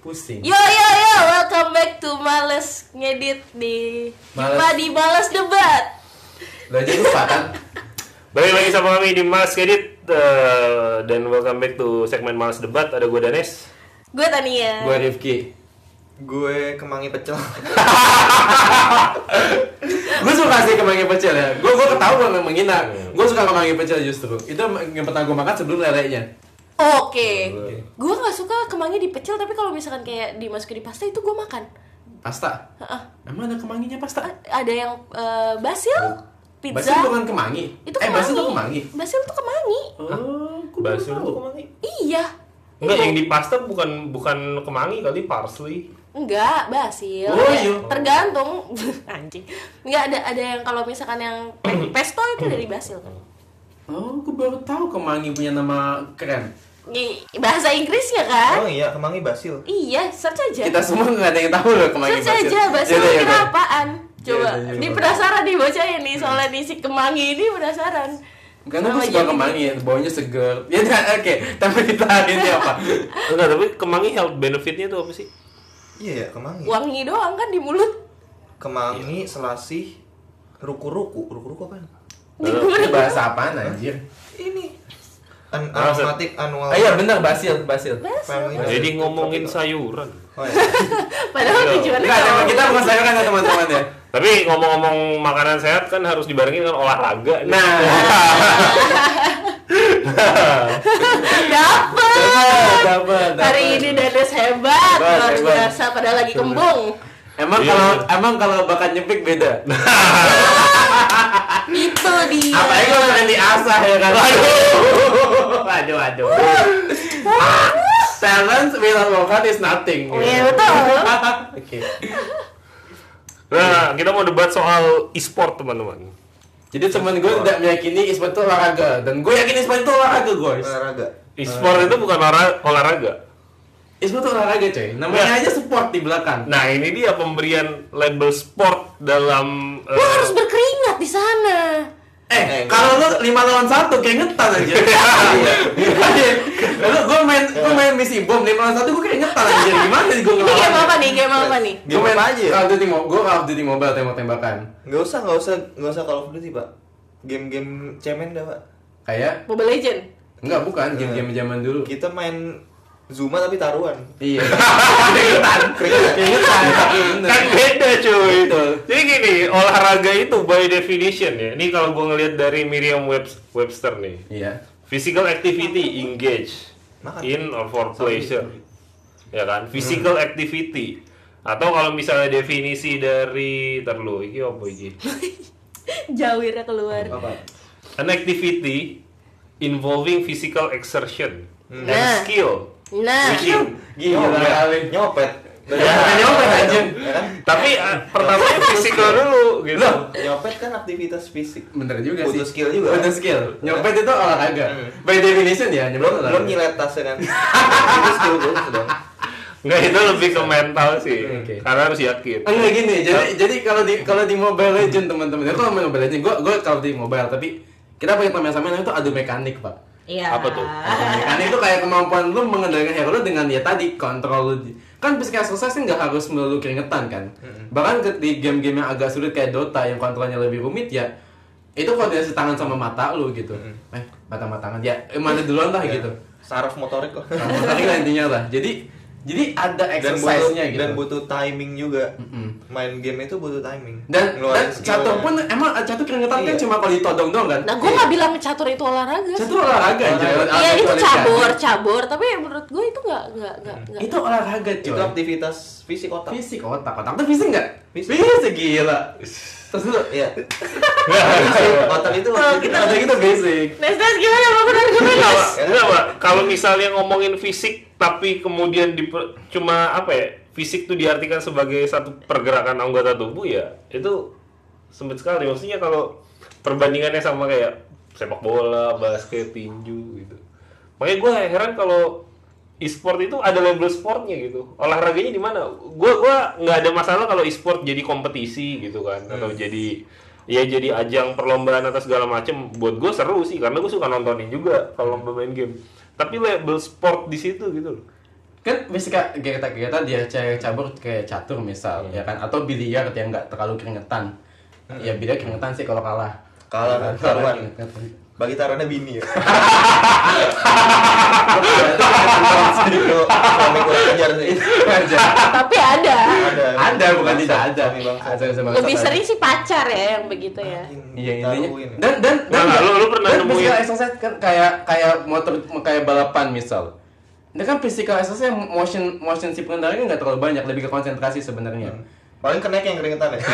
Pusing. Yo, welcome back to Males Ngedit di Jumpa di Males Debat. Lo aja lupa kan? Balik lagi sama kami di Males Ngedit dan welcome back to segmen Males Debat. Ada gue Danes, Gue Tania, Gue Rifki. Gue kemangi pecel. Gue suka sih kemangi pecel ya. Gue ketahuan memang menghina. Gue suka kemangi pecel justru. Itu yang pernah gue makan sebelum lelenya. Oke. Gue nggak suka kemangi di pecel, tapi kalau misalkan kayak dimasukin di pasta itu gue makan. Pasta? Emang ada kemanginya pasta? Ada yang basil, pizza. Basil bukan kemangi? Itu kemangi. Basil tuh kemangi? Basil tuh kemangi. Oh, basil itu kemangi? Iya. Enggak, yang di pasta bukan kemangi kali, parsley. Enggak, basil. Oh, iya. Tergantung. Anjing. Enggak ada yang kalau misalkan yang pesto itu dari basil kan. Oh, gue baru tahu kemangi punya nama keren. Bahasa Inggrisnya kan? Oh iya, kemangi basil. Iya, search aja. Kita semua nggak ada yang tahu loh kemangi Search basil. aja, basil Yaudah, kira yaudah. apaan? Coba, Yaudah. ini penasaran nih bocahnya nih soalnya nih si kemangi ini penasaran. Karena gue Sama suka jadi- kemangi, baunya seger. Ya udah, oke. Tapi kita hari ini apa? Enggak, tapi kemangi health benefitnya tuh apa sih? Iya ya, kemangi. Wangi doang kan di mulut. Kemangi, selasih, ruku-ruku. Ruku-ruku apaan? Ini bahasa apaan anjir? Ini aromatik annual. Ah iya benar, basil. Family. Jadi ngomongin sayuran. Oh, iya. Padahal tujuannya Enggak, kalau- kita bukan sayuran ya teman-teman ya. Tapi ngomong-ngomong makanan sehat kan harus dibarengin dengan olahraga. Nah, dapat. Hari ini Danes hebat, luar Hebat. biasa pada lagi kembung. Emang kalau bakat nyepik beda. Itu dia. Apalagi kalau kalian diasah ya kan. Waduh. Talent without bakat is nothing. Iya, betul. Oke. Nah, kita mau debat soal e-sport, teman-teman. Jadi teman gue tidak meyakini e-sport itu olahraga dan gue yakin e-sport itu olahraga guys. Olahraga. E-sport itu bukan olahraga. E-sport itu olahraga coy. Namanya aja sport di belakang. Nah, ini dia pemberian label sport dalam Lo harus berkeringat di sana. Kalau lu 5 lawan 1 keringetan aja. Lalu gue main misi bom 5 lawan 1 gue keringetan aja. Gimana sih gue Ini ngelawan? game apa nih? Game apa nih? Gue main Game apa aja? Call of Duty Mobile tembak-tembakan. Nggak usah Call of Duty, Pak. Game cemen dah, Pak. Kayak Mobile Legend. enggak bukan game-game zaman dulu. Kita main Zuma tapi taruhan. Iya. Keringetan. kan beda cuy. Betul. Jadi gini, olahraga itu by definition ya. Ini kalau gue ngelihat dari Merriam-Webster nih. Iya. Physical activity engage Makan. in or for pleasure. Ya kan? Physical activity. Atau kalau misalnya definisi dari iki apa iki? Jawirnya keluar. Apa? An activity involving physical exertion and Nah. skill. Nah, Gila kali. Nyopet. Ya, nyopet aja. Ya kan? Tapi pertamanya physical dulu gitu. Loh, Nyopet kan aktivitas fisik. bener juga sih. Butuh skill juga. Butuh skill. Nyopet itu olahraga. By definition ya, nyopet Belum olahraga. nyilet tasnya kan. Itu skill bagus dong. Enggak, itu lebih ke mental sih. Oke. Karena harus yakin. Enggak gini, jadi kalau di Mobile Legend teman-teman, itu main Mobile Legend, gue kalau di Mobile, tapi kita pakai teman sama itu adu mekanik pak. iya. Apa tuh? Mekanik itu kayak kemampuan lu mengendalikan hero lu dengan ya tadi kontrol lu. Kan physical exercise kan nggak harus melulu keringetan kan. Bahkan di game-game yang agak sulit kayak Dota yang kontrolnya lebih rumit ya, itu koordinasi tangan sama mata lu gitu. Mata-matangan ya, mana duluan lah gitu. Saraf motorik kok. Tadi lah intinya lah. Jadi ada exercise-nya gitu. Dan butuh timing juga. Main game itu butuh timing. Dan Ngeluarin skill. catur pun emang catur keringetan kan Iya. cuma kalau ditodong doang kan. Nah, gue nggak bilang catur itu olahraga. sih. Catur olahraga aja. Iya, itu cabur, tapi menurut gue itu nggak. Itu olahraga Itu coy. aktivitas fisik otak. Fisik otak tuh fisik nggak? Fisik. Fisik gila. Terus dulu. Iya. Otak itu Otak itu basic. Nes gimana bangunan gue Nes? Enggak, Pak. Kalau misalnya ngomongin fisik tapi kemudian cuma apa ya? Fisik tuh diartikan sebagai satu pergerakan anggota tubuh ya, itu sempit sekali. Maksudnya kalau perbandingannya sama kayak sepak bola, basket, tinju gitu. Makanya gue heran kalau e-sport itu ada label sportnya gitu. Olahraganya di mana? Gua nggak ada masalah kalau e-sport jadi kompetisi gitu kan, atau jadi ajang perlombaan atas segala macem. Buat gue seru sih, karena gue suka nontonin juga kalau lomba main game. Tapi label sport di situ gitu loh. kan fisika kita dia cewek cabur kayak catur misal ya kan, atau biliar yang nggak terlalu keringetan. Ya biliar keringetan sih kalau kalah. Kalah taruhan. Bagi taruhannya bini ya. Suami kurang ajar sih. Tapi ada. Ada bukan tidak ada. Lebih sering sih pacar ya yang begitu ya. Iya intinya. Taruhin. Dan lu pernah nemuin physical exercise kan kayak motor kayak balapan misal. Ini kan physical exercise yang motion si pengendaranya nggak terlalu banyak, lebih ke konsentrasi sebenarnya. Paling kenaik yang keringetan ya.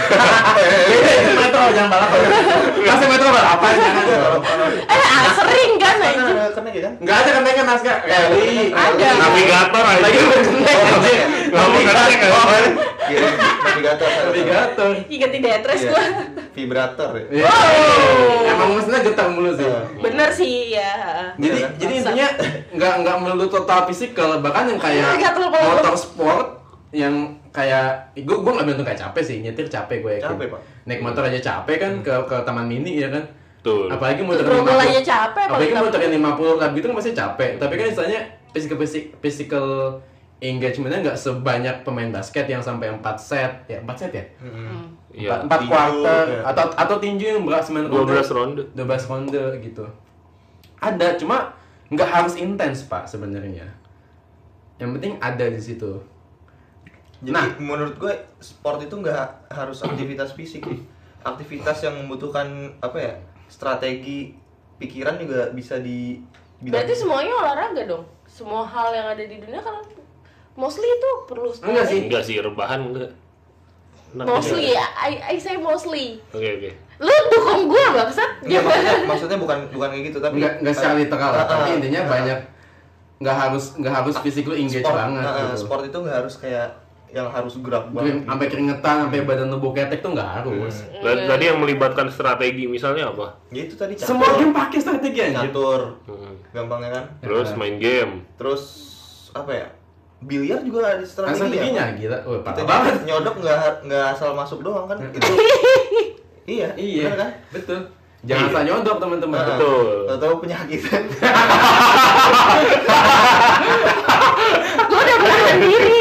Metro jangan balapan. Masih metro balapan jangan. Sering kan Kan aja. ada kenaik ya kan? Enggak ada kenaikan naskah. Kali. Ada. navigator aja. Lagi berkenaik aja. Nggak mau kenaik kan? Iya, navigator. Navigator. Ganti detres Iya. gua. Vibrator ya. Iya. Emang mesinnya getar mulu sih. Bener sih ya. Jadi intinya nggak melulu total fisikal, bahkan yang kayak Nggak terlalu- motor sport yang kayak gue nggak bilang tuh kayak capek sih, nyetir capek gue yakin. Capek, Pak. Naik motor aja capek kan ke taman mini ya kan. Betul. Apalagi motor Grogol aja capek, apalagi apalagi motor 50 lap gitu kan masih capek. Tapi kan istilahnya physical engagementnya nggak sebanyak pemain basket yang sampai 4 set ya. 4 set ya? Iya. 4 tinju, quarter ya. atau tinju yang berat 9 12 ronde. 12 ronde gitu. Ada, cuma nggak harus intens Pak sebenarnya. Yang penting ada di situ. Jadi Nah. menurut gue sport itu nggak harus aktivitas fisik sih. Aktivitas yang membutuhkan apa ya, strategi, pikiran juga bisa di bidang. Berarti semuanya olahraga dong. Semua hal yang ada di dunia kan mostly itu perlu Enggak sih. Enggak sih, rebahan enggak. Enak Mostly juga. ya, I say mostly. Oke. Lu dukung gua bangsat. Nggak, maksudnya bukan kayak gitu, tapi Nggak secara literal, tapi intinya ah. banyak nggak harus physically engage banget gitu. Sport itu nggak harus kayak yang harus gerak banget. Sampai keringetan, sampai badan tubuh ketek tuh nggak harus. Tadi yang melibatkan strategi misalnya apa? Ya itu tadi Semua game pakai strategi aja. catur, gampangnya kan. Terus main game. Terus apa ya? Biliar juga ada strategi Strateginya ya. gila. Wah, Kita parah banget. nyodok nggak asal masuk doang kan. Itu iya, Iya, bener kan? betul. Jangan Iya. asal nyodok teman-teman. Betul. Tahu penyakitan. Gua udah menahan diri.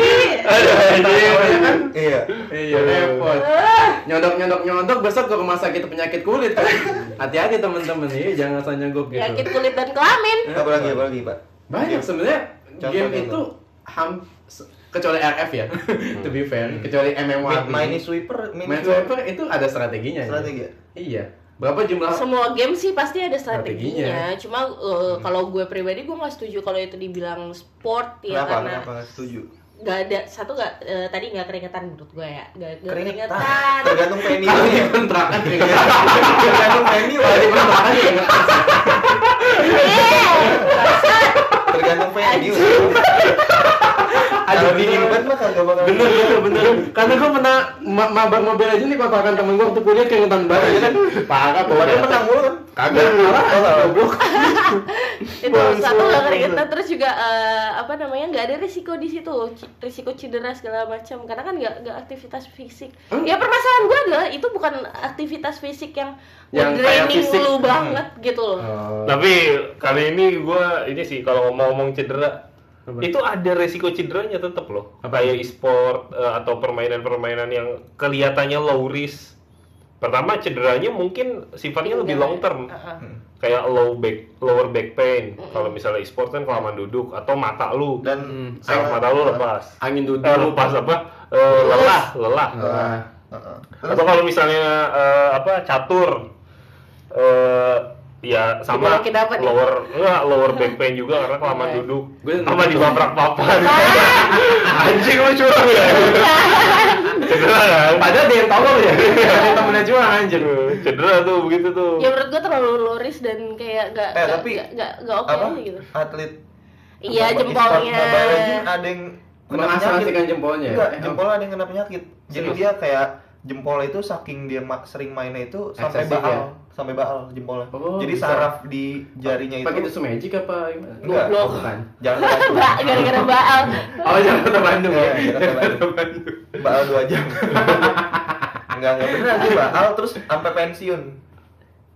Iya. Iya, repot. Nyodok besok ke rumah sakit penyakit kulit kan. Hati-hati teman-teman nih, jangan asal nyogok gitu. Penyakit kulit dan kelamin. Apalagi Pak. Banyak sebenarnya Contoh, game contoh. itu kecuali RF ya, to be fair, kecuali MMORPG. Mini sweeper, Main swiper itu ada strateginya. Strategi ya? Iya. Berapa jumlah? Semua game sih pasti ada strateginya. Strateginya. Cuma kalau gue pribadi gue nggak setuju kalau itu dibilang sport ya karena Kenapa nggak setuju? nggak ada tadi nggak keringetan menurut gue ya nggak Keringetan. keringetan. Tergantung venue. Kalau di kontrakan keringetan. Tergantung venue. Kalau di kontrakan keringetan. Tergantung venue. Ada Kalau dingin dingin banget. banget mah kagak bakal. Bener. Karena gue pernah mabar mobil aja nih kontrakan temen gue waktu kuliah keringetan banget ya kan. Parah Padahal pokoknya. menang mulu kan. Kagak kalah. Goblok. Itu satu nggak keringetan terus juga nggak ada risiko di situ risiko cedera segala macam karena kan nggak aktivitas fisik. Ya permasalahan gue adalah itu bukan aktivitas fisik yang Yang kayak draining fisik. lu banget gitu loh. Tapi kali ini ini sih kalau ngomong cedera itu ada resiko cederanya tetap loh. Kayak e-sport atau permainan-permainan yang kelihatannya low risk. Pertama cederanya mungkin sifatnya lebih long term. Kayak lower back pain. Kalau misalnya e-sport kan kelamaan duduk atau mata lu Dan mata lu lepas. Angin duduk. Lepas apa? Lelah. Atau kalau misalnya catur ya sama Gimana kita dapat ya? lower back pain juga karena kelamaan duduk Gue sama dibabrak papan. Anjing lu curang ya. Cedera kan? Padahal dia yang tolong ya. Temennya cuma anjir. Cedera tuh begitu tuh. Ya menurut gue terlalu loris dan kayak tapi nggak oke apa? aja gitu. Atlet Iya e-sport jempolnya. Mobile Legends ada yang kena Mengasosiasikan penyakit. jempolnya. Enggak, jempolnya ada yang kena penyakit. Jadi Serius? dia kayak jempol itu saking dia sering mainnya itu sampai Eksesif baal, ya? sampai baal jempolnya. Oh, Jadi bisa. saraf di jarinya Pakai itu tisu magic apa gimana? Enggak. Oh, bukan. jangan Bandung. Gara-gara baal. Oh, jangan kota Bandung ya. Iya, Jakarta Bandung. Baal 2 jam. Enggak beneran sih baal terus sampai pensiun.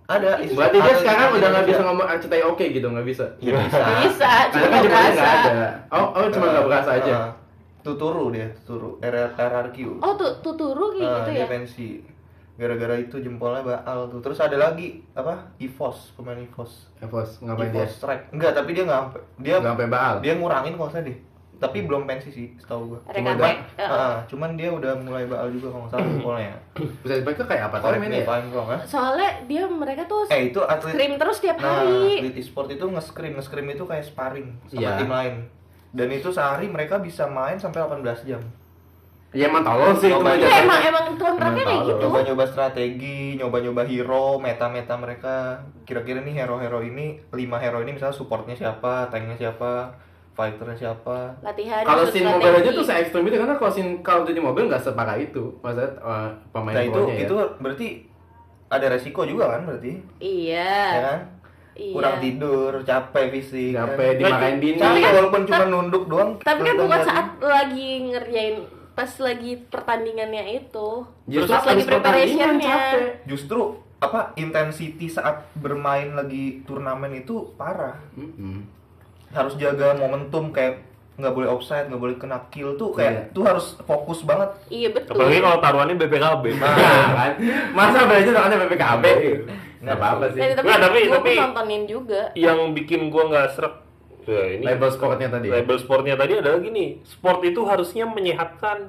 Ada. Berarti dia sekarang udah nggak bisa ngomong Arcetai oke gitu, nggak bisa. Ya, bisa. Bisa, cuma Karena kan nggak Jepangnya berasa. nggak ada. Oh cuma nggak berasa aja. Tuturu dia, Tuturu. RRQ. Oh Tuturu kayak gitu Dia ya. pensi. Gara-gara itu jempolnya baal tuh. Terus ada lagi apa? EVOS, pemain EVOS. Evos ngapain dia? EVOS Strike. Enggak, tapi dia nggak sampai. Dia Nggak sampai baal. Dia ngurangin kok deh. Tapi belum pensi sih, setahu gua. Rek-rek. Cuman dia udah mulai baal juga kalau nggak salah jempolnya. Bisa dipakai kayak apa? Korek Mainnya nih, ya? paling wrong ya. Soalnya mereka tuh Itu atlet. scrim terus tiap Nah, hari. atlet e-sport itu nge-scrim itu kayak sparring sama Iya. tim lain. Dan itu sehari mereka bisa main sampai 18 jam. Ya emang tolol sih itu Coba aja. Iya emang kontraknya Emang kayak tahu. gitu. Nyoba-nyoba strategi, nyoba-nyoba hero, meta-meta mereka. Kira-kira nih hero-hero ini, 5 hero ini misalnya supportnya siapa, tanknya siapa, fighternya siapa. Latihan. Kalau susun scene mobile aja strategi. tuh se-ekstrim itu karena kalau scene Call of Duty mobile nggak separah itu. Maksudnya pemain Nah pro-nya ya. itu berarti ada resiko juga kan berarti, Iya. ya kan? Iya. Kurang tidur, capek fisik, Sampai kan? dimarahin bini. Capek walaupun cuma nunduk doang. Tapi kan bukan kelihatan saat lagi ngerjain pas lagi pertandingannya itu. Justru Pas lagi habis pertandingan preparationnya. capek. Justru apa intensity saat bermain lagi turnamen itu parah. Harus jaga momentum, kayak nggak boleh offside, nggak boleh kena kill tuh, kayak tuh harus fokus banget. Iya betul. Apalagi kalau taruhannya BPKB. Nah, kan? Masa belajar soalnya PPKB? Nggak apa-apa sih. Tapi Nggak, tapi- gua tapi- pun nontonin juga. Yang bikin gua nggak srek. Ya, ini Label sportnya tadi. label sportnya tadi adalah gini, sport itu harusnya menyehatkan,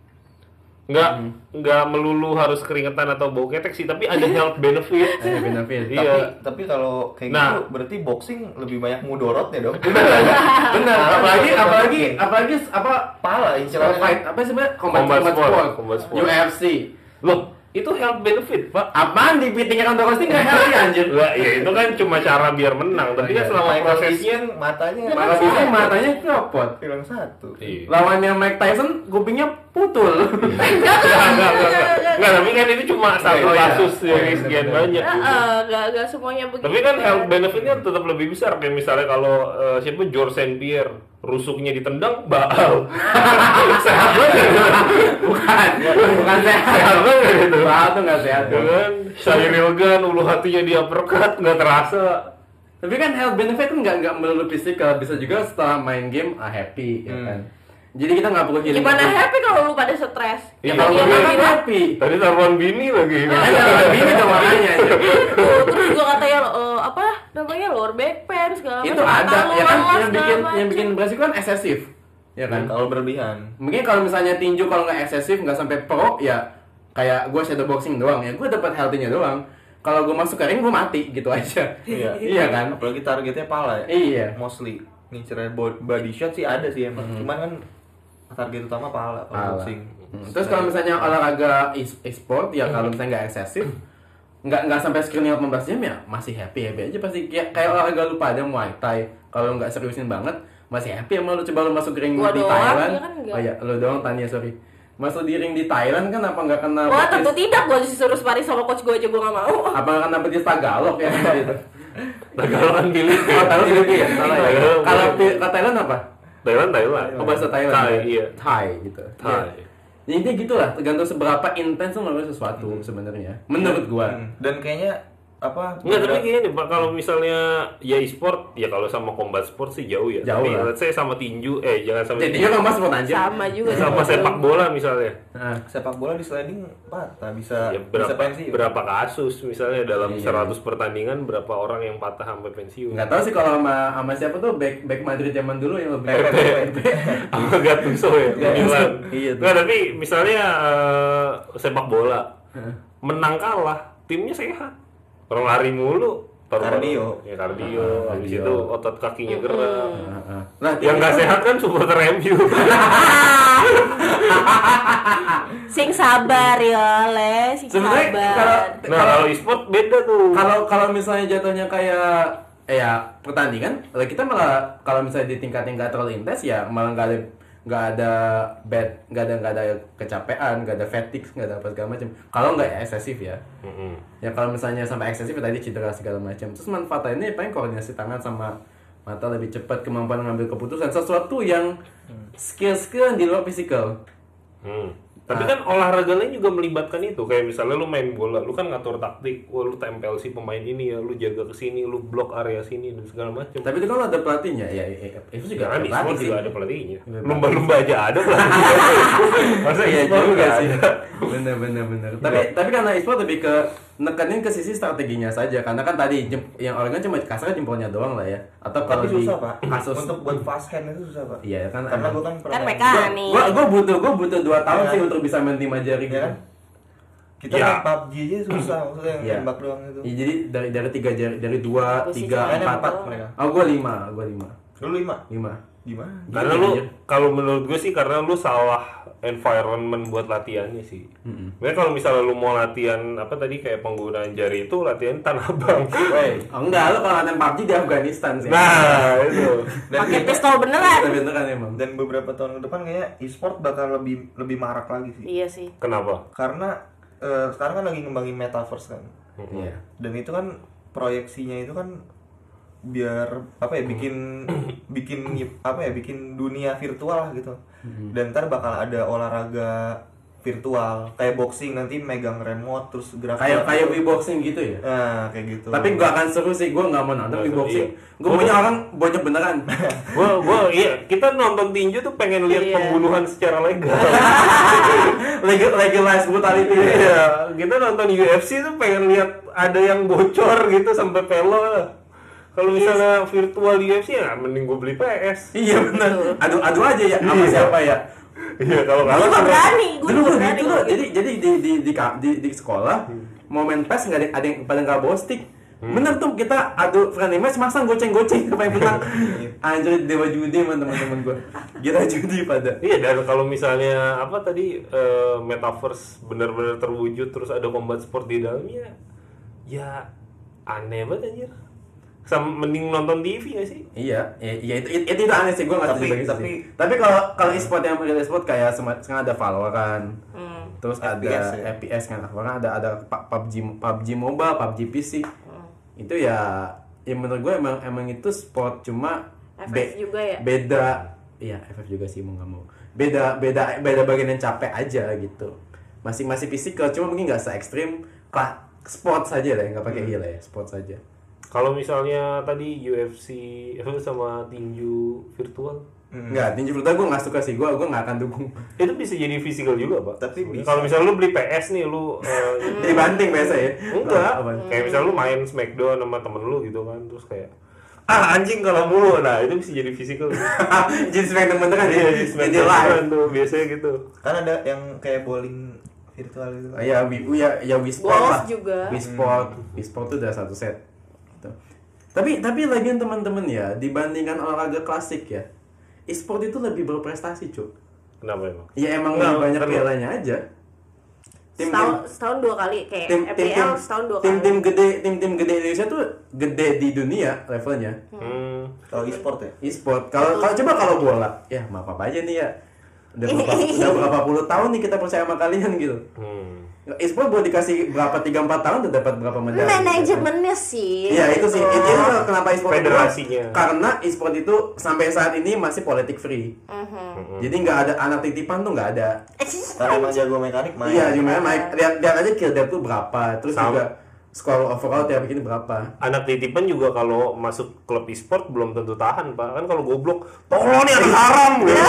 nggak melulu harus keringetan atau bau ketek sih, tapi ada health benefit. Benefit. Iya. Tapi kalau kayak Nah. gitu berarti boxing lebih banyak mudorotnya dong. Benar. Apalagi apa Pala incerannya fight apa sih sebenarnya Combat sport. UFC. Loh, itu health benefit, Pak. Apaan di pitingnya Ronda Rousey nggak healthy anjir? Lah, ya itu kan cuma cara biar menang, tapi kan selama prosesnya matanya Malah bisa matanya copot. hilang satu. iya. Lawannya Mike Tyson kupingnya putul. Enggak, tapi kan itu cuma satu Oh, iya. kasus dari iya, sekian bener. banyak. Gak semuanya begitu. Tapi kan health benefitnya tetap lebih besar, kayak misalnya kalau siapa George St. Pierre rusuknya ditendang baal. Sehat banget. Bukan sehat. Sehat banget itu. Baal tuh nggak sehat. Ya kan? Cyril Gane ulu hatinya di uppercut nggak terasa. Tapi kan health benefit kan nggak melulu fisikal, bisa juga setelah main game happy, ya kan. Jadi kita nggak perlu healing. Gimana happy kalau lu pada stres? Ya Iya, kalau Iya, gue kan iya. happy. Tadi taruhan bini lagi. Ini tuh makanya. Terus juga katanya apa namanya lower back pain segala Itu macam. ada ya kan Lemas, yang bikin segala yang bikin macam. beresiko kan eksesif. Ya kan? Kalau berlebihan. Mungkin kalau misalnya tinju kalau nggak eksesif nggak sampai pro ya kayak gue shadow boxing doang ya gue dapat healthy-nya doang. Kalau gue masuk ke ring gue mati gitu aja. Iya. Iya kan? Apalagi targetnya pala ya. Iya. Mostly. Ngincernya body shot sih ada sih emang. Cuman kan target utama pala kalau Pala. boxing. Terus kalau misalnya olahraga e-sport ya kalau misalnya nggak eksesif nggak sampai screening 18 jam ya masih happy aja pasti kayak olahraga lu pada Muay Thai kalau nggak seriusin banget masih happy sama lu coba lu masuk ring Gua di doang, Thailand dia kan nggak. oh ya lu doang Tania sorry masuk di ring di Thailand kan apa nggak kena Wah petis- tentu tidak, gue disuruh sparring sama coach gue aja gue gak mau. apa nggak kena petis Tagalog ya gitu Tagalokan pilih. oh Thailand gitu ya salah ya Tagalog. kalau ke Thailand apa Thailand. oh bahasa Thailand Thai, ya? iya. Thai gitu Thai. ya, intinya gitulah tergantung seberapa intens lu ngelakuin sesuatu sebenarnya menurut gua Dan kayaknya apa? Enggak, tapi gini Pak, kalau misalnya ya e-sport, ya kalau sama combat sport sih jauh ya. Jauh Tapi lah. let's say sama tinju, jangan sama jadi dia nggak mau anjir Sama juga. sama sepak bola misalnya. Nah, sepak bola di sliding patah bisa Ya bisa pensiun. berapa kasus misalnya dalam Iya. 100 pertandingan berapa orang yang patah sampai pensiun. nggak tahu sih kalau sama siapa tuh back Madrid zaman dulu yang lebih Sama Gattuso ya, Milan. Iya tuh. Nggak, tapi misalnya sepak bola menang kalah, timnya sehat. Orang lari mulu, Kardio. Ya kardio, habis itu otot kakinya gerak. Nah, Yang nggak sehat kan supporter MU. Sing sabar ya, Le. Sing sebenarnya sabar. Nah kalau e-sport beda tuh. kalau misalnya jatuhnya kayak ya pertandingan, kita malah kalau misalnya di tingkat yang nggak terlalu intens ya malah nggak ada kecapean, nggak ada fatigue, nggak ada apa segala macam. Kalau nggak eksesif ya. Ya kalau misalnya sampai eksesif ya tadi cedera segala macam. Terus manfaatnya paling koordinasi tangan sama mata lebih cepat, kemampuan mengambil keputusan, sesuatu yang skill-skill yang di luar fisikal. Tapi kan olahraga lain juga melibatkan itu. Kayak misalnya lu main bola, lu kan ngatur taktik. Wah, lu tempel si pemain ini ya, lu jaga ke sini, lu blok area sini dan segala macam. Tapi itu kan ada pelatihnya. Ya itu juga Kan ada e-sport pelatih. juga ada pelatihnya. Iya, Lumba-lumba aja ada pelatihnya. Masa Iya e-sport juga nggak sih. ada? Bener. Tapi karena e-sport lebih ke nekenin ke sisi strateginya saja. Karena kan tadi yang orangnya cuma kasarnya jempolnya doang lah ya. Atau kalau Tapi susah, Pak. kasus Untuk buat fast hand itu susah, Pak. Iya kan. Karena gue kan Kan pernah mekanik. Gue butuh 2 tahun Iya. sih untuk bisa main 5 jari ya gitu. kan? Kita Ya. main PUBG aja susah, maksudnya yang Iya. nembak doang itu. Iya, jadi dari 3 jari, dari 2, Posisi 3, mainnya 4. 4 mereka. Oh, gue 5. Lu 5? 5. Gimana? Karena lu, kalau menurut gue sih karena lu salah environment buat latihannya sih. Makanya kalau misalnya lu mau latihan apa tadi kayak penggunaan jari itu latihan Tanah Abang. Woi, enggak, lu kalau latihan PUBG di Afghanistan sih. Nah, itu. Pakai pistol beneran. Tapi beneran emang. Dan beberapa tahun ke depan kayaknya e-sport bakal lebih marak lagi sih. Iya sih. Kenapa? Karena sekarang kan lagi ngembangin metaverse kan. Iya. Dan itu kan proyeksinya itu kan biar apa ya bikin dunia virtual lah gitu. Dan ntar bakal ada olahraga virtual kayak boxing, nanti megang remote terus gerak Kayak Wii-boxing gitu ya. nah kayak gitu. Tapi gak akan seru sih, gue gak mau nonton Nggak seru, Wii-boxing. iya. Gue maunya orang bonyok beneran. Iya, kita nonton tinju tuh pengen lihat Iya. pembunuhan secara legal. Legalize brutality. Iya, kita nonton UFC tuh pengen lihat ada yang bocor gitu sampai pelo. Kalau misalnya virtual UFC ya mending gue beli PS. Iya bener. Adu aja ya sama siapa ya. Iya, kalau Gue kalah juga berani, gue Dulu juga gitu berani. loh. Jadi di sekolah mau main PES nggak ada yang pada nggak bawa stick. Bener tuh kita adu friendly match masang goceng-goceng siapa yang menang. Anjir dewa judi sama teman-teman gue. Gila judi pada. Iya, dan kalau misalnya apa tadi metaverse benar-benar terwujud terus ada combat sport di dalamnya, ya aneh banget anjir. Mending nonton TV gak sih? Iya, itu aneh sih, gue nggak setuju bagi tapi- sih. Tapi kalau e-sport yang real e-sport kayak sekarang ada Valorant, terus ada FPS ya? FPS kan, bahkan ada PUBG Mobile, PUBG PC. Itu ya menurut gue emang itu sport, cuma FF juga ya? beda, iya FF juga sih mau nggak mau. Beda bagian yang capek aja gitu. Masih physical, cuma mungkin nggak se ekstrim sport saja lah, nggak pakai iya lah ya, sport saja. Kalau misalnya tadi UFC sama tinju virtual, Enggak, tinju virtual gue nggak suka sih, gue nggak akan dukung. itu bisa jadi physical juga, Pak. Tapi bisa. Kalau misalnya lu beli PS nih, lu Jadi banting biasa ya? enggak, Apaan? kayak misalnya lu main Smackdown sama temen lu gitu kan, terus kayak anjing kalau mulu, nah itu bisa jadi physical. Jadi smackdown beneran ya? Jadi Jadi Smackdown live. beneran tuh biasanya gitu. Kan ada yang kayak bowling virtual gitu. Ya, Wii Sport Golf lah. juga. Wii Sport tuh udah satu set. Gitu. Tapi lagian teman-teman ya, dibandingkan olahraga klasik ya, e-sport itu lebih berprestasi, Cuk. Kenapa emang? Ya emang Nggak, lebih banyak kan- pialanya aja. Setahun 2 kali kayak FPL setahun 2 kali. tim gede Indonesia tuh gede di dunia levelnya. Kalau e-sport ya. E-sport. Kalau bola, ya maaf apa aja nih ya. Udah berapa puluh tahun nih kita percaya sama kalian gitu. E-sport boleh dikasih berapa 3-4 tahun udah dapat berapa medali. Manajemennya sih. Iya itu sih. Itu kenapa e-sport Federasinya. Karena e-sport itu sampai saat ini masih politik free. Jadi nggak ada anak titipan tuh nggak ada. Karena emang jago mekanik main. Iya, gimana Mike? Lihat aja kill death tuh berapa. Terus Sama. juga skor overall tiap bikin berapa. Anak titipan juga kalau masuk klub e-sport belum tentu tahan, Pak. Kan kalau goblok, tolong nih anak haram gitu.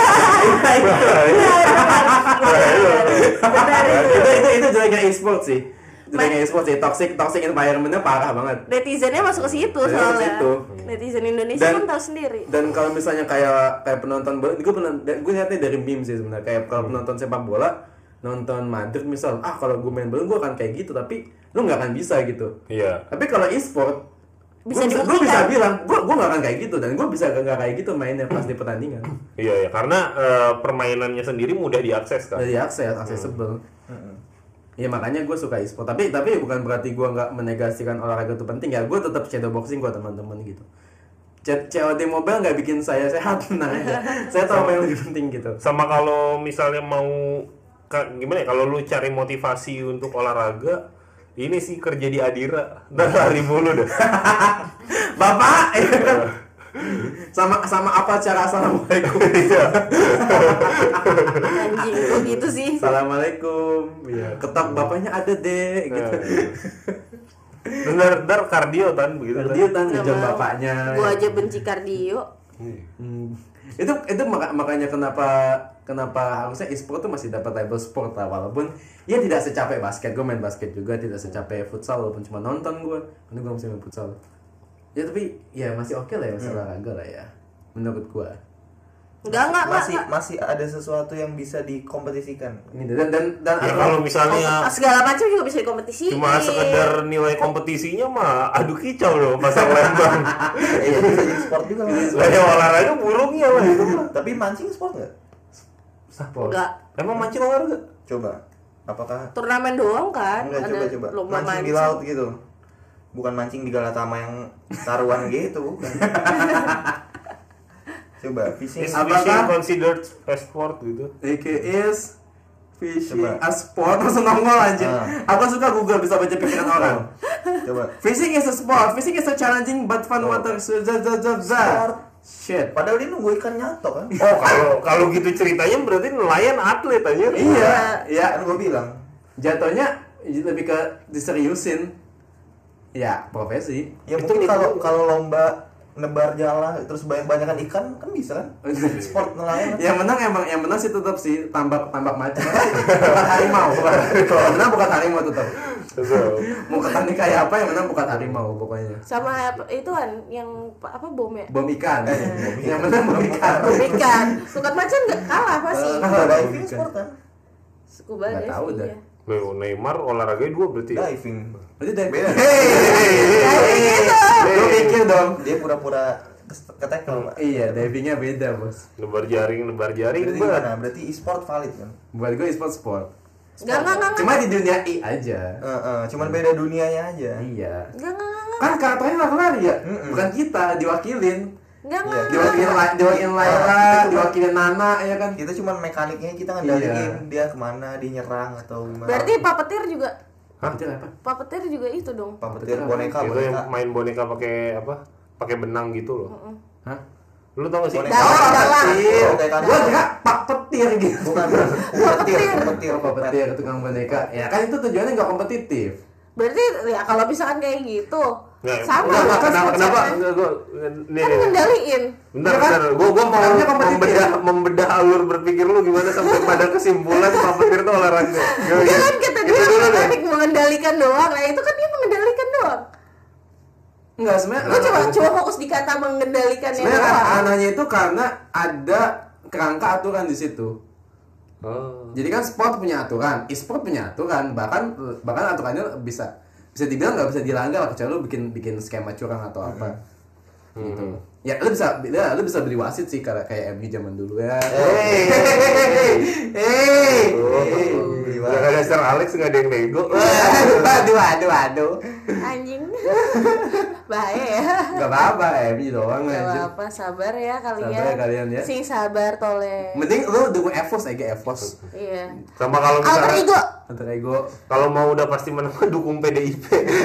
Itu jeleknya e-sport sih. Jeleknya e-sport sih. Toxic environment-nya parah banget. Netizennya masuk ke situ Netizen ke soalnya. situ. Netizen Indonesia kan tahu sendiri. Dan kalau misalnya kayak penonton bola, gue lihatnya dari meme sih sebenarnya. Kayak kalau penonton sepak bola, nonton Madrid misal, kalau gue main bola gue akan kayak gitu, tapi lu nggak akan bisa gitu. Iya. Tapi kalau e-sport, Bisa gue dibuktikan. bisa bilang, gue nggak akan kayak gitu, dan gue bisa nggak kayak gitu mainnya pas di pertandingan. Iya, karena permainannya sendiri mudah diakses kan. Dari accessible. Ya makanya gue suka e-sport. Tapi bukan berarti gue nggak menegasikan olahraga itu penting ya. Gue tetap shadowboxing kok teman-teman gitu. COD Mobile nggak bikin saya sehat, tenang aja. Saya tahu apa yang lebih penting gitu. Sama kalau misalnya mau gimana ya, kalau lu cari motivasi untuk olahraga, ini sih kerja di Adira, dan lari mulu dah. Bapak, Sama apa cara assalamualaikum? Anjing kok gitu sih. Assalamualaikum. Ya, ketok bapaknya ada deh gitu. Bener kardio tan begitu. Dia tan Nggak ngejam mau. bapaknya. Gua aja benci kardio. Itu makanya kenapa harusnya e-sport tuh masih dapat label sport lah, walaupun ya tidak secapek basket. Gue main basket juga tidak secapek futsal, walaupun cuma nonton gue karena gue masih main futsal ya, tapi ya masih oke lah ya, masih olahraga lah ya menurut gue. Enggak. Masih ada sesuatu yang bisa dikompetisikan. Ini dan Ya kalau misalnya Segala macam juga bisa dikompetisiin. cuma sekedar nilai kompetisinya mah aduh kicau loh pasang lembang. Itu bisa jadi sport juga kan. Lah ya olahraga burungnya lah itu mah. Tapi mancing sport nggak? sport. Enggak. Emang mancing olahraga? Coba. Apakah Turnamen doang kan? enggak, Ada coba lomba mancing di laut gitu? Bukan mancing di Galatama yang taruhan gitu, bukan. Coba fishing. Is Apakah- fishing considered a sport gitu? It is fishing Coba. a sport, langsung nongol anjir. Ah. Aku suka Google bisa baca pikiran orang. Coba. Fishing is a sport. Fishing is a challenging but fun Oh. water. Sport. Shit. Padahal dia nunggu ikan nyatok kan? Oh kalau gitu ceritanya berarti nelayan atlet aja. Iya, ya. Kan gue bilang. Jatuhnya lebih ke diseriusin. Ya, profesi. Ya mungkin kalau lomba nebar jala terus banyak-banyakan ikan kan bisa kan? Sport nelayan. Kan? Yang menang sih tetap sih tambak macam. Bukan harimau, Yang menang bukan harimau tetap. Mau ketani kayak apa yang menang bukan harimau pokoknya. Sama itu kan yang apa bom ya? Bom ikan. Yang menang bom ikan. Bom ikan. Sukat macan enggak kalah pasti. Diving sport kan? Scuba Nggak diving. tahu dah. Iya. Neymar olahraganya 2 berarti. Ya? Diving. Berarti dari Beda. Lu pikir dong. Dia pura-pura ketekel. Pak. Iya, divingnya beda, Bos. Nebar jaring Berarti Mbak. gimana? Berarti e-sport valid kan? Buat gue sport. Enggak. Cuma di dunia aja. Cuman beda dunianya aja. Iya. Enggak. Kan karakternya lari-lari ya? Mm-mm. Bukan kita, diwakilin. Enggak. Diwakilin Laila, diwakilin Nana, ya kan? Kita cuman mekaniknya kita ngendaliin dia kemana, dia nyerang atau gimana. Berarti puppeteer juga. Hah? Itu apa? Puppeteer juga itu dong. puppeteer boneka. Itu yang main boneka pakai apa? Pakai benang gitu loh. Hah? Lu tau gak sih? Boneka. Dalang. Petir. Oh, kayak Gua kira pak petir gitu. Bukan. Petir. Pak petir tukang boneka. Ya kan itu tujuannya nggak kompetitif. Berarti ya kalau misalkan kayak gitu Nggak, sama kenapa? kan Kenapa? konsepnya. Gua nih. Kan ngendaliin. Bentar, Ya kan? Gua mau Makanya kompetitif. membedah alur berpikir lu gimana sampai pada kesimpulan puppeteer itu olahraga. Dia kan kata dia mekanik mengendalikan doang. Nah itu kan dia mengendalikan doang. Enggak, sebenarnya. Lu coba fokus di kata mengendalikannya Sebenarnya doang. anehnya itu karena ada kerangka aturan di situ. Oh. Jadi kan sport punya aturan, e-sport punya aturan, bahkan aturannya bisa dibilang nggak bisa dilanggar lah, kecuali lu bikin skema curang atau apa. Gitu. Ya lu bisa beli wasit sih kayak MU zaman dulu ya. Gak ada Sir Alex, gak ada yang nego. Waduh. Anjing. Bahaya ya. Gak apa-apa, MU doang Gak aja. apa-apa, sabar ya kalian. Sabar ya kalian ya. Sing sabar tole. Mending lu dukung EVOS aja, EVOS. Iya. Sama kalau Alter misalnya ego. Antar ego. kalau mau udah pasti menang dukung PDIP.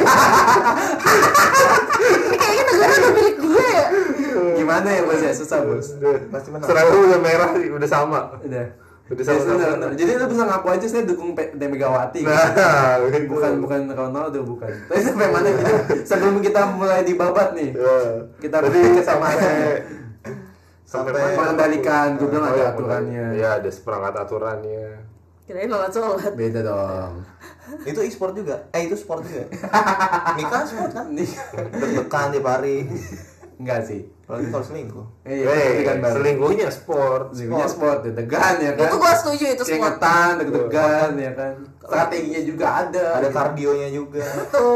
Ini kayaknya negara udah milik dia ya. Gimana ya bos ya, susah bos. Pasti menang. Seragam udah merah sih, udah sama. Udah. Udah Ya, sama. benar. Jadi lu bisa ngaku aja saya dukung Megawati. Nah, bukan Ronaldo bukan. Tapi sampai mana kita sebelum kita mulai dibabat nih. Kita berpikir sama Sampai mengendalikan, gue bilang ada aturannya. Iya, ada seperangkat aturannya. Kirain sholat. Beda dong. itu e-sport juga. Itu sport juga. Nikah sport kan? Nih, Deg-degan tiap hari. enggak sih. Apalagi kalau selingkuh. Tapi kan baru. Selingkuhnya sport. Selingkuhnya sport, deg-degan ya kan. Itu gua setuju itu sport. Keringetan, deg-degan ya kan. Strateginya juga ada. Ada kardionya juga.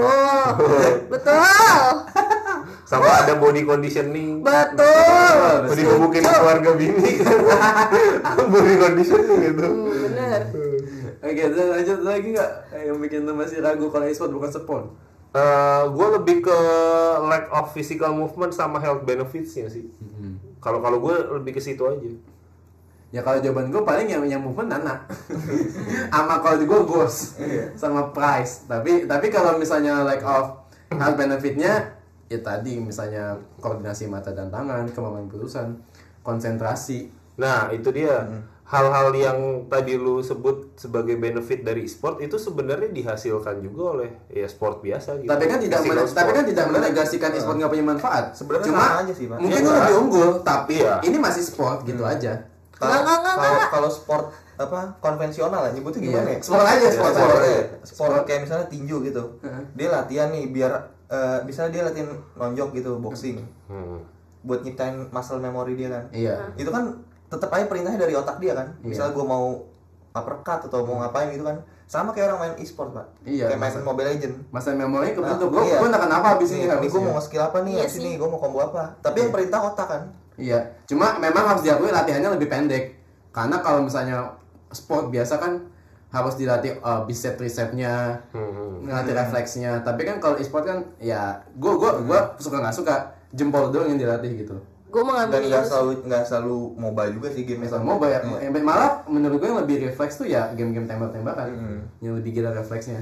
Betul. Sama ada body conditioning. Betul. Body gebukin keluarga bini. Body conditioning gitu. Bener. Oke, lanjut lagi nggak yang bikin lu masih ragu kalau e-sport bukan sport? Gue lebih ke lack of physical movement sama health benefits-nya sih. Kalau gue lebih ke situ aja. Ya kalau jawaban gue paling yang movement Nana. Sama kalau gue Ghost sama Price. Tapi kalau misalnya lack of health benefitnya ya tadi misalnya koordinasi mata dan tangan, kemampuan berurusan, konsentrasi. Nah, itu dia. Hal-hal yang tadi lu sebut sebagai benefit dari e-sport itu sebenarnya dihasilkan juga oleh ya sport biasa gitu. Tapi kan tidak menegasikan e-sport nggak punya manfaat. Sebenarnya Cuma sama aja sih, Pak. mungkin Iya, lu lebih unggul, tapi Iya. ini masih sport gitu aja. Kalau sport apa konvensional ya nyebutnya gimana ya? Sport aja, sport aja. Sport kayak misalnya tinju gitu. Dia latihan nih biar misalnya dia latihan nonjok gitu, boxing. Buat nyiptain muscle memory dia kan. Iya. Itu kan tetap aja perintahnya dari otak dia kan. Misalnya gue mau uppercut atau mau ngapain gitu kan. Sama kayak orang main e-sport, Pak. Iya, Kayak main Mobile Legend. Masa memori kebentuk. Nah, Gue nak kenapa abis ini Ini gue mau nge-skill apa nih, abis ini gue mau combo apa. Tapi yang perintah otak kan. Iya, cuma memang harus diakui latihannya lebih pendek. Karena kalau misalnya sport biasa kan harus dilatih bicep tricepnya, ngelatih refleksnya. Tapi kan kalau e-sport kan ya gue suka nggak suka jempol doang yang dilatih gitu. Gue mengambil Dan nggak selalu mobile juga sih game Misal mobile ya, malah menurut gue yang lebih refleks tuh ya game-game tembak-tembakan yang lebih gila refleksnya.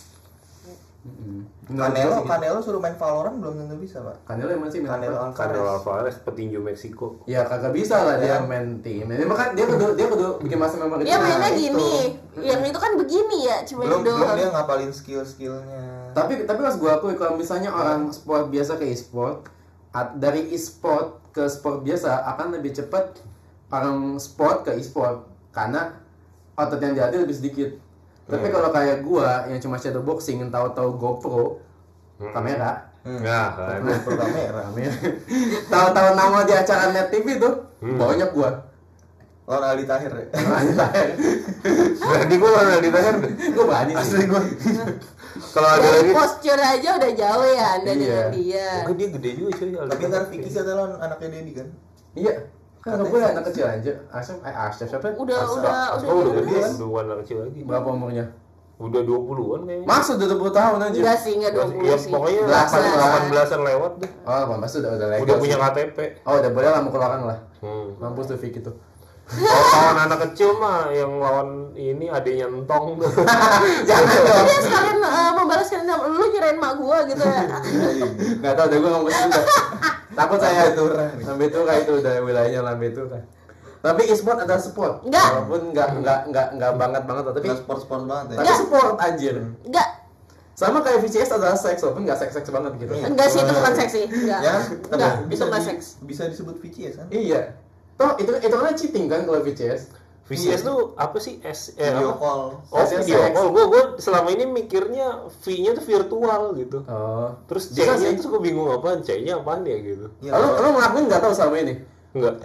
Canelo suruh main Valorant belum tentu bisa, Pak. Canelo emang sih Canelo Alvarez petinju Meksiko. ya kagak bisa lah dia main tim. Dia makan dia kudu bikin masa memori. Dia mainnya itu. gini, yang itu kan begini ya, cuma Belum doang. dia ngapalin skill-skillnya. Tapi mas gue akui kalau misalnya orang sport biasa ke e-sport, dari e-sport ke sport biasa akan lebih cepat orang sport ke e-sport karena otot yang dilatih lebih sedikit. Tapi kalau kayak gua yang cuma shadow boxing yang tahu-tahu GoPro kamera, Nah, kan. GoPro kamera. tahu-tahu nama di acara Net TV tuh banyak gua. Lawan Aldi Tahir ya. Berarti gue malah ditanya. Gua berani sih. Asli gue. Kalau ada Dari lagi, posture aja udah jauh ya Anda dengan dia. mungkin dia gede juga cuy. Tapi ntar Vicky kata lawan anaknya Dedi kan. Iya. Kan gue anak kecil aja. Asep siapa? Udah Oh, udah jelas. gede, udah anak kecil lagi. Berapa umurnya? Udah 20-an kayaknya. Maksud udah 20 tahun aja. Enggak sih, enggak 20 Ya sih. pokoknya Belasan lah. 18-an lewat deh. Oh, maksud udah legal. Udah punya sih. KTP. Oh, udah boleh lah mau keluaran lah. Hmm. Mampus tuh Vicky tuh. Kalau lawan anak kecil mah yang lawan ini adanya entong tuh. Jangan dong. Dia sekalian membalaskan dendam, lu nyerain mak gua gitu ya. Nggak tahu deh gue ngomong gitu. Takut saya Lambe-tura. Lambe-tura itu udah wilayahnya Lambe-tura. Tapi e-sport adalah sport. Enggak. Walaupun enggak banget tapi Enggak sport-sport banget ya. tapi sport anjir. Enggak, Sama kayak VCS adalah seks walaupun enggak seks banget gitu. enggak sih itu bukan seksi. Enggak. Ya, Enggak, tapi itu enggak seks. bisa disebut VCS kan? Iya. Toh itu kan cheating kan kalau VCS. VCS tuh apa sih? Video Apa? call. Oh, VCS. video call. Gue selama ini mikirnya V-nya tuh virtual gitu. Oh. Terus Bisa C-nya sih. tuh gue bingung apaan, C-nya apaan ya gitu. Iya. Lo ngelakuin enggak tahu selama ini? Enggak.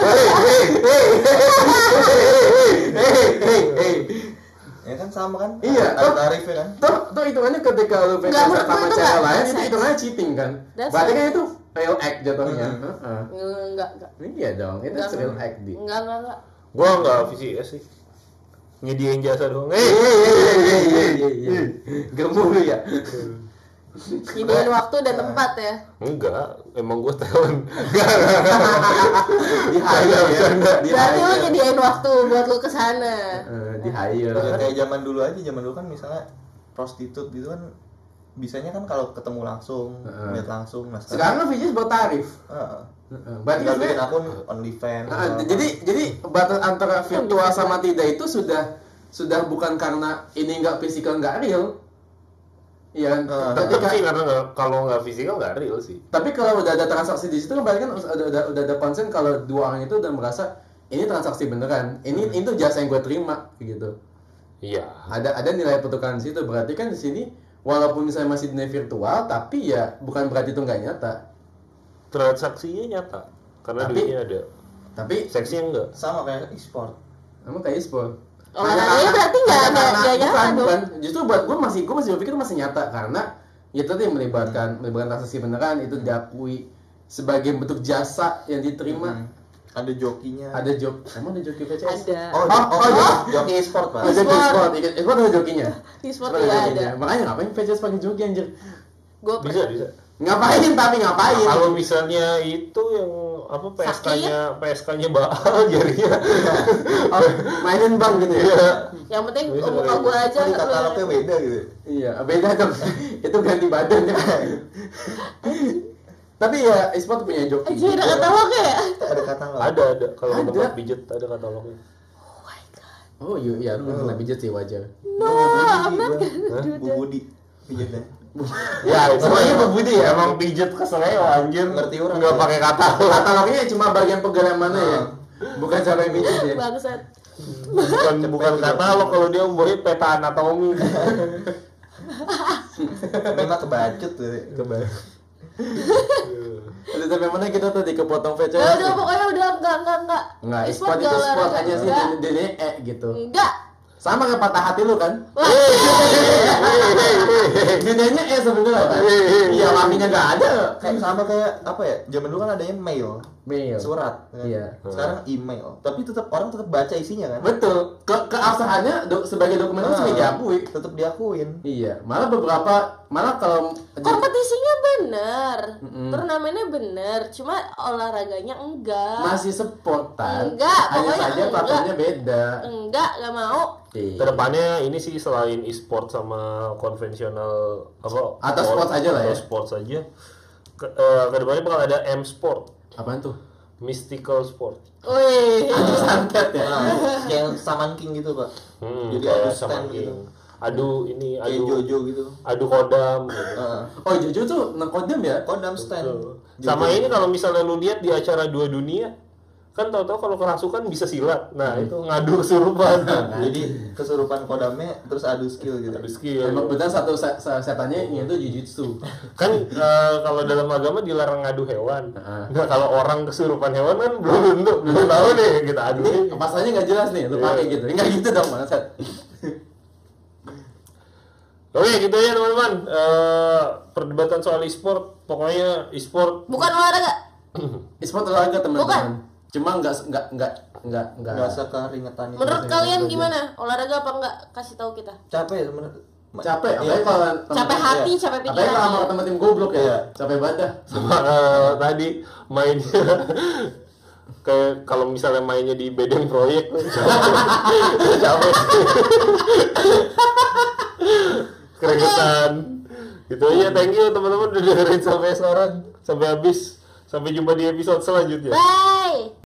Ya kan sama kan? Iya, Ada tarifnya kan? Toh hitungannya ketika lu Enggak, VCS menurut sama gua itu cewek enggak lain itu seks. hitungannya cheating kan? That's Berarti right. kan itu real act jatuhnya. Enggak. Iya dong, itu Enggak. real act di. Enggak. Gue enggak VCS sih. Nyediain jasa doang. Gemuk lu ya. Nyediain waktu dan tempat ya. Enggak, emang gue talent. Di hire ya. Di Berarti lu hire. nyediain waktu buat lu kesana. Di hire. Ya, kayak zaman dulu aja, zaman dulu kan misalnya prostitut gitu kan bisanya kan kalau ketemu langsung, lihat langsung. Nah, Sekarang kan VCS buat tarif. Berarti tinggal bikin sebenarnya akun OnlyFans. jadi batas antara virtual sama tidak itu sudah bukan karena ini enggak fisikal enggak real. Iya, Tapi karena kalau nggak fisikal nggak real sih. tapi kalau udah ada transaksi di situ kan berarti kan udah ada konsen kalau dua orang itu udah merasa ini transaksi beneran, ini itu jasa yang gue terima gitu. Iya. Ada nilai pertukaran di situ, berarti kan di sini walaupun misalnya masih dunia virtual tapi ya bukan berarti itu nggak nyata. Transaksinya nyata karena Tapi- duitnya ada. Tapi Seksinya enggak. Sama kayak e-sport. emang kayak e-sport. Olahraganya berarti nggak nyata dong. Bukan, justru buat gue masih berpikir masih nyata karena ya tadi yang melibatkan transaksi beneran itu diakui sebagai bentuk jasa yang diterima. Ada jokinya. Ada emang ada joki VCS? Ada. Joki e-sport, Pak. Oh, joki e-sport, e-sport ada jokinya. E-sport Ada juga jokinya. ada. Makanya ngapain VCS pakai joki anjir? Gue Bisa. Ngapain tapi ngapain? Kalau misalnya itu yang apa PSK-nya bakal jadinya. Oh, mainin bang gitu ya? Yang penting Bisa, muka gue aja. Jadi katalognya beda gitu. Iya, beda dong. Itu ganti badan ya. Tapi ya e-sport punya joki. Aja ada katalognya ya? Ada katalog. Ada. Kalau Ada. tempat pijet ada katalognya. Oh iya, lu kena pijat sih wajar. Amat Bu Budi pijatnya. Ya, semuanya Bu Budi ya, emang pijet keseleo anjir. Ngerti orang. Enggak pakai katalog. Katalognya cuma bagian pegangan mana ya? Bukan cara yang pijat ya. bangsat. Bukan katalog kalau dia umurnya peta anatomi. Memang kebacut tuh. Udah sampai mana kita tadi kepotong VCS? Ya udah pokoknya udah enggak. Enggak, E-sport e-sport itu gak sport olahraga. aja sih, Enggak. jadi gitu. Enggak. Sama kayak patah hati lu kan? Wah, Bedanya sebenarnya kan? Iya, maminya nggak ada. Kayak sama kayak apa ya? Zaman dulu kan adanya mail, Mail. surat. Kan? Iya. Sekarang email. Tapi orang tetap baca isinya kan? Betul. Keabsahannya sebagai dokumen itu sudah diakui. Tetap diakuin. Iya. Malah kalau kompetisinya bener, turnamennya bener, cuma olahraganya enggak. masih sportan, Enggak, hanya pokoknya saja platformnya beda. Enggak mau. Iya. Kedepannya ini sih selain e-sport sama konvensional apa? Atau sports aja lah ya. Atau sports aja. Kedepannya bakal ada M-sport, Apaan tuh? mystical sport. Wih. Santet ya. Kayak Saman King gitu, Pak. Jadi Kayak adu sama stand gitu. Adu Jojo gitu. adu kodam. Gitu. Heeh. Oh, Jojo tuh ngekodam ya? Kodam stand. Sama ini kalau misalnya lu lihat di acara Dua Dunia, kan tahu-tahu kalau kerasukan bisa silat. Nah, itu ngadu kesurupan. Jadi kesurupan kodamnya terus adu skill gitu. Adu skill. Emang benar satu setannya itu jujutsu. Kan kalau dalam agama dilarang ngadu hewan. Heeh. Nah, kalau orang kesurupan hewan kan belum tahu nih kita adu. Pasalnya nggak jelas nih, lu pakai gitu. Enggak gitu dong, Bangsat. Oke, gitu ya teman-teman. Perdebatan soal e-sport, pokoknya e-sport Bukan olahraga. E-sport olahraga Bukan. teman-teman. Cuma enggak Enggak sekeringetan itu. Menurut kalian gimana? Olahraga apa enggak? Kasih tahu kita. Capek ya sebenarnya. capek, Iya. apalagi kalau Capek hati, capek apalagi pikiran. kalau sama teman tim goblok ya, Iya. capek badan. sama tadi mainnya kayak kalau misalnya mainnya di bedeng proyek capek keringetan gitu aja. Thank you teman-teman udah dengerin sampai sekarang, sampai habis. Sampai jumpa di episode selanjutnya. Bye.